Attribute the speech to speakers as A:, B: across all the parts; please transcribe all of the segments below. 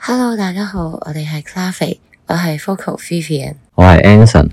A: Hello， 大家好，我哋係 Clave， 我係 Focal Vivian，
B: 我係 Anson。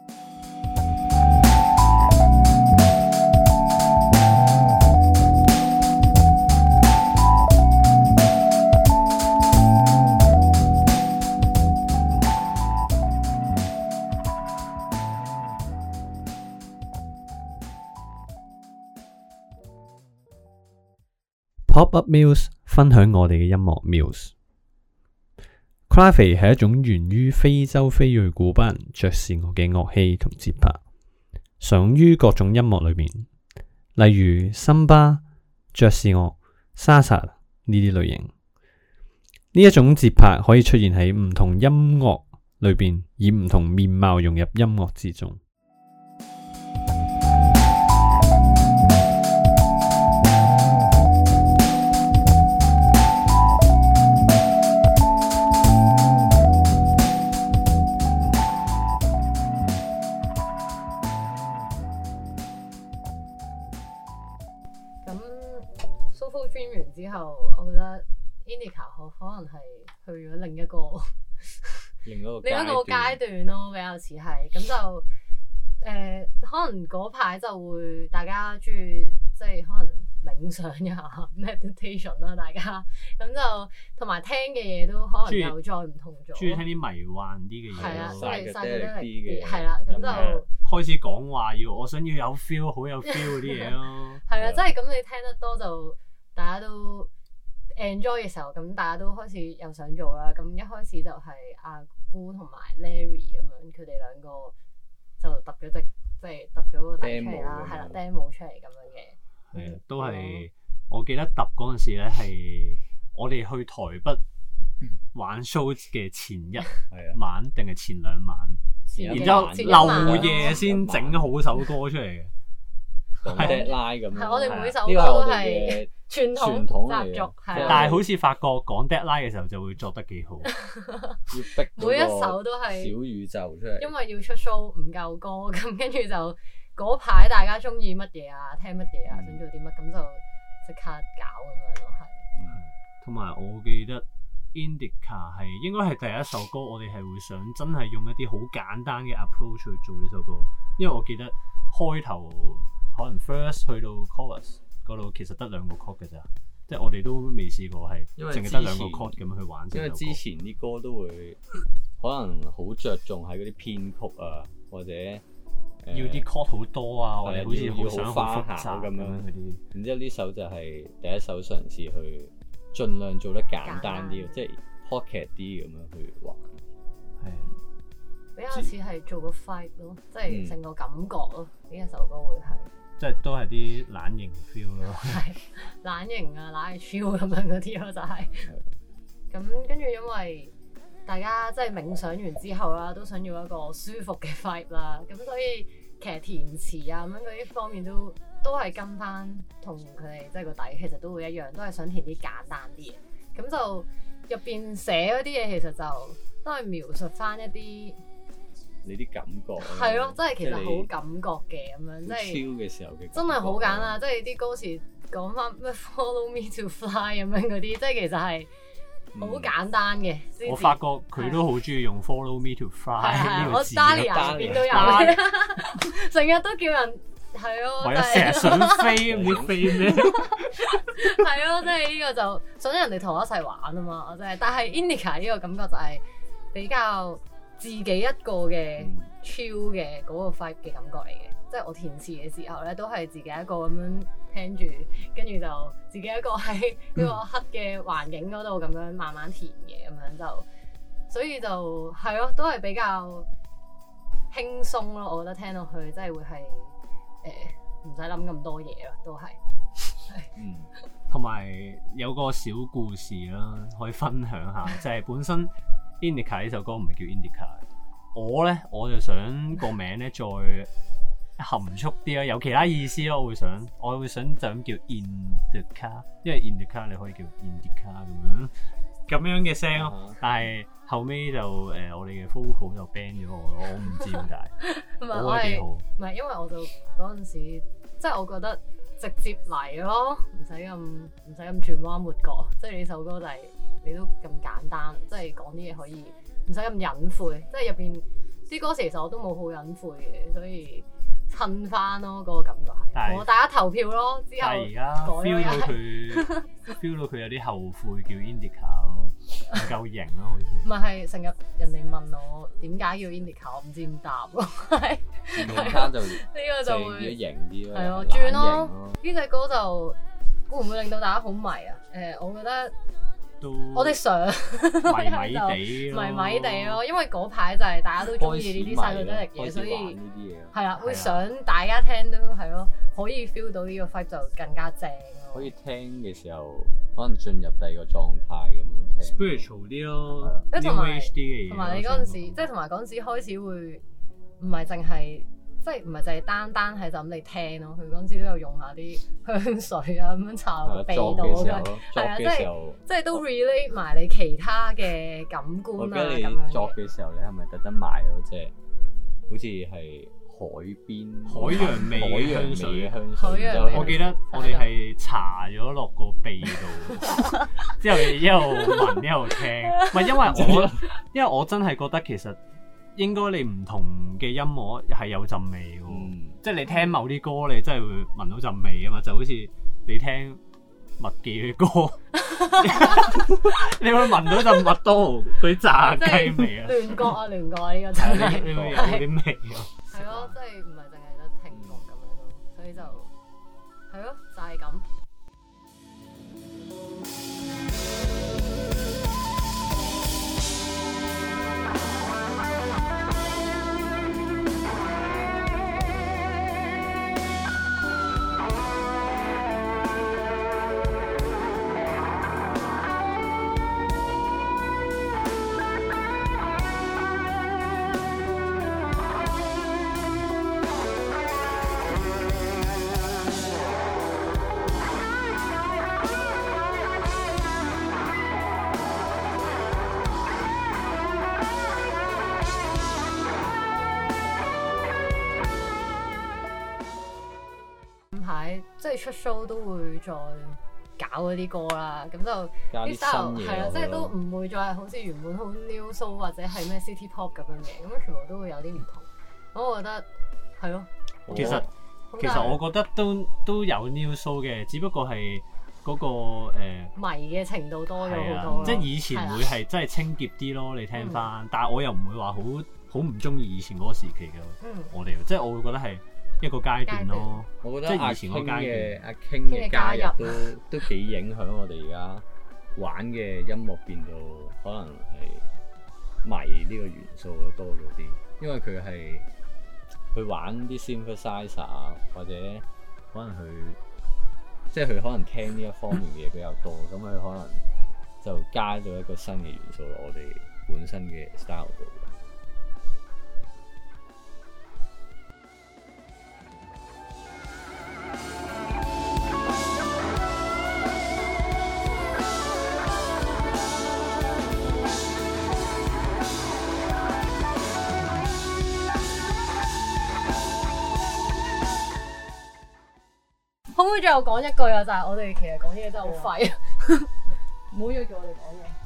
C: Pop-up Muse 分享我哋嘅音樂 Muse。Clave 係一種源於非洲非裔古巴人爵士樂嘅樂器同節拍，常用於各種音樂裏面，例如森巴、爵士樂、沙薩呢啲類型。呢一種節拍可以出現喺唔同音樂裏邊，以唔同面貌融入音樂之中。
D: Soulful Dream 完之後，我覺得 Indica 可能係去咗另一個階段咯，比較似係咁就可能嗰排就會大家中意即係可能冥想一下 meditation 啦，大家咁就同埋聽嘅嘢都可能又再唔同咗，
C: 中意聽啲迷幻啲嘅嘢，
D: 係啦，
B: 細
D: 啲
B: 嘅，
D: 係啦，咁就
C: 開始講話我想要有 feel， 好有 feel 嗰啲嘢咯。
D: 係啊，即係咁你聽得多就大家都 enjoy 嘅時候，咁大家都開始又想做啦。咁一開始就係阿姑同埋 Larry 咁樣，佢哋兩個就揼咗隻即係揼咗個底出嚟啦，係啦 demo 出嚟咁樣嘅。
C: 係都係我記得揼嗰陣時咧，係我哋去台北玩 show 嘅前一晚定係前兩晚，然之後漏夜先整好首歌出嚟嘅。
B: 講 deadline 咁樣，
D: 係我哋每首歌都係傳統習俗，
C: 但係好似發覺講 deadline 嘅時候就會作得幾好，
B: 要逼
D: 每一首都係
B: 小宇宙出嚟，
D: 因為要出 show 唔夠歌，咁跟住就嗰排大家中意乜嘢啊，聽乜嘢啊，想做啲乜，咁就即刻搞咁樣咯，係。
C: 同埋我記得 Indica 係應該係第一首歌，我哋係會想真係用一啲好簡單嘅 approach 去做呢首歌，因為我記得開頭可能 first 去到 chorus 嗰度，其實得兩個 chord 嘅咋，即係我哋都未試過係淨係得兩個 chord 咁樣去玩。
B: 因為之前啲歌都會可能好着重喺嗰啲編曲啊，或者
C: 要啲 chord 好多啊，或者好似好想
B: 花
C: 複雜
B: 咁樣
C: 嗰啲。
B: 然之後呢首就係第一首嘗試去盡量做得簡單啲，即係 pocket 啲咁樣去玩。
D: 係比較似係做個 vibe 咯，即係成個感覺咯。呢一首歌會係。
C: 即係都係啲懶型 feel 咯，
D: 係懶型啊，懶係 chill 咁樣嗰啲咯，就係。咁跟住因為大家即係冥想完之後啦，都想要一個舒服嘅 vibe 啦，咁所以其實填詞啊咁樣嗰啲方面都係跟翻同佢哋即係個底，其實都會一樣，都係想填啲簡單啲嘢。咁就入邊寫嗰啲嘢，其實就都係描述翻一啲。
B: 你啲感覺
D: 係咯，真係其實好感覺嘅咁樣，即係
B: 超嘅時候嘅
D: 真係好簡單，即係啲歌詞講翻咩 Follow me to fly 咁樣嗰啲，即係其實係好簡單嘅。
C: 我發覺佢都好中意用 Follow me to fly 呢個字，
D: 我 Dahlia 入邊都有，成日都叫人係咯，
C: 為咗成日想飛唔知飛咩？
D: 係咯，即係呢個就想人哋同我一齊玩啊嘛，真係。但係 Indica 呢個感覺就係比較自己一個嘅 chill 嘅嗰個 vibe 嘅感覺嚟嘅，即係我填詞嘅時候咧，都係自己一個咁樣聽住，跟住就自己一個喺呢個黑嘅環境嗰度咁樣慢慢填嘅，咁樣就，所以就係咯，都係比較輕鬆咯。我覺得聽落去真係會係唔使諗咁多嘢咯，都係。
C: 同埋有個小故事啦，可以分享下，就係本身。Indica 呢首歌唔係叫 Indica， 我就想個名咧再含蓄啲啦，有其他意思咯。我會想就咁叫 Indica， 因為 Indica 你可以叫 Indica 咁樣嘅聲咯。但係後尾就我哋嘅 vocal 就 ban 咗我唔知點解。
D: 唔係我係唔係因為我就嗰陣時即係我覺得直接嚟咯，唔使咁轉彎抹角，即係呢首歌就係你都咁簡單，即係講啲嘢可以唔使咁隱晦，即係入邊啲歌詞其實我都冇好隱晦嘅，所以襯翻咯嗰個感覺係，我大家投票咯，之後
C: 但係而家 feel 到佢 feel 到佢有啲後悔叫 Indica 咯，唔夠型咯好似。
D: 唔係成日人哋問我點解叫 Indica， 我唔知點答咯，係。
B: 用翻就呢
D: 個就會
B: 型啲咯，
D: 係咯轉咯。呢隻歌就會唔會令到大家好迷啊？我覺得我哋想
C: 迷迷地咯，
D: 迷迷地咯，因為嗰排就係大家都中意呢啲細路仔嘅嘢，所以係啦，會想大家聽都係咯，可以 feel 到呢個 vibe 就更加正咯。
B: 可以聽嘅時候，可能進入第二個狀態咁樣聽
C: spiritual 啲咯，
D: 同埋
C: HD 嘅嘢，
D: 同埋你嗰陣時，即係同埋嗰陣時開始會唔係淨係。即係唔係就係單係就咁你聽咯，佢嗰陣時都有用下啲香水啊咁樣搽落個鼻度嘅，係啊，即係都 relate 埋你其他嘅感官啊咁樣。
B: 你作嘅時候，你係咪特登買咗隻好似係海洋味嘅香水？
C: 我記得我哋係搽咗落個鼻度，之後一路聞一路聽。唔係因為我真係覺得其實。應該你唔同嘅音樂係有陣味嘅，即係你聽某啲歌，你真係會聞到陣味啊嘛，就好似你聽麥記嘅歌，你會聞到陣麥當勞嗰啲炸雞味啊！
D: 亂覺啊，亂覺呢個真係，
C: 你會有啲味啊！
D: 係咯，即係唔係淨係得聽覺咁樣咯，所以就係咯，就係咁。即係出 show 都會再搞嗰啲歌啦，咁就
B: 加啲新嘢，
D: 係啊，即係都唔會再係好似原本好 new soul 或者係咩 city pop 咁樣嘅，咁全部都會有啲唔同。咁我覺得係咯。
C: 其實我覺得都有 new soul 嘅，只不過係嗰個
D: 迷嘅程度多咗好多。
C: 即係以前會係真係清潔啲咯，你聽翻，但係我又唔會話好唔中意以前嗰個時期嘅。我哋即係我會覺得係一個階段咯。
B: 我覺得
C: 即係以前嗰階段
B: 阿 King 嘅加入都幾影響我哋而家玩嘅音樂變到可能係迷呢個元素多咗啲，因為佢係去玩啲 synthesizer 啊，或者可能佢可能聽呢一方面嘅嘢比較多，咁佢可能就加咗一個新嘅元素落我哋本身嘅 style 度。
D: 可唔可以最後講一句啊？就係我哋其實講嘢真係好廢，唔好要叫我哋講嘢。